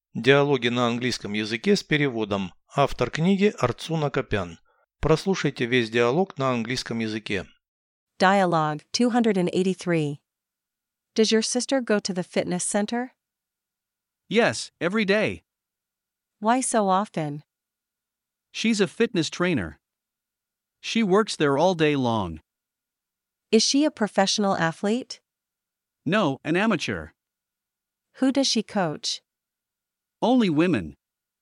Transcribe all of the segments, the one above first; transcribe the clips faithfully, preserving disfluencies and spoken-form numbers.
Диалоги на английском языке с переводом. Автор книги Арцуна Копян. Прослушайте весь диалог на английском языке. Dialogue two eighty-three. Does your sister go to the fitness center? Yes, every day. Why so often? She's a fitness trainer. She works there all day long. Is she a professional athlete? No, an amateur. Who does she coach? Only women.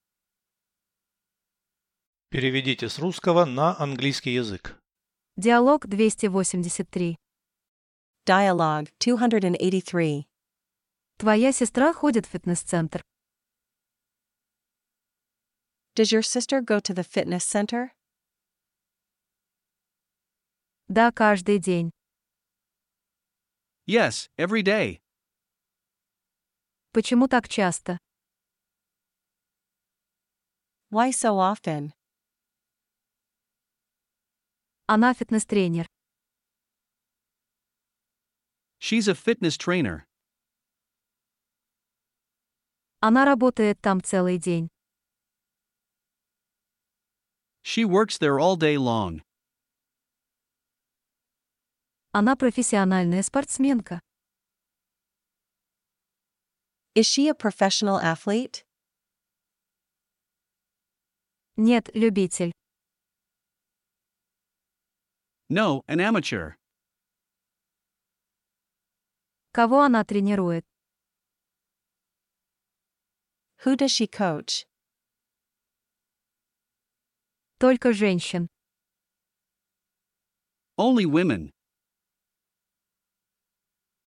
Переведите с русского на английский язык. Диалог двести восемьдесят три. Dialogue two eighty-three. Твоя сестра ходит в фитнес-центр. Does your sister go to the fitness center? Да, каждый день. Yes, every day. Почему так часто? Why so often? Она фитнес-тренер. She's a fitness trainer. Она работает там целый день. She works there all day long. Она профессиональная спортсменка. Is she a professional athlete? Нет, любитель. No, an amateur. Кого она тренирует? Who does she coach? Только женщин. Only women.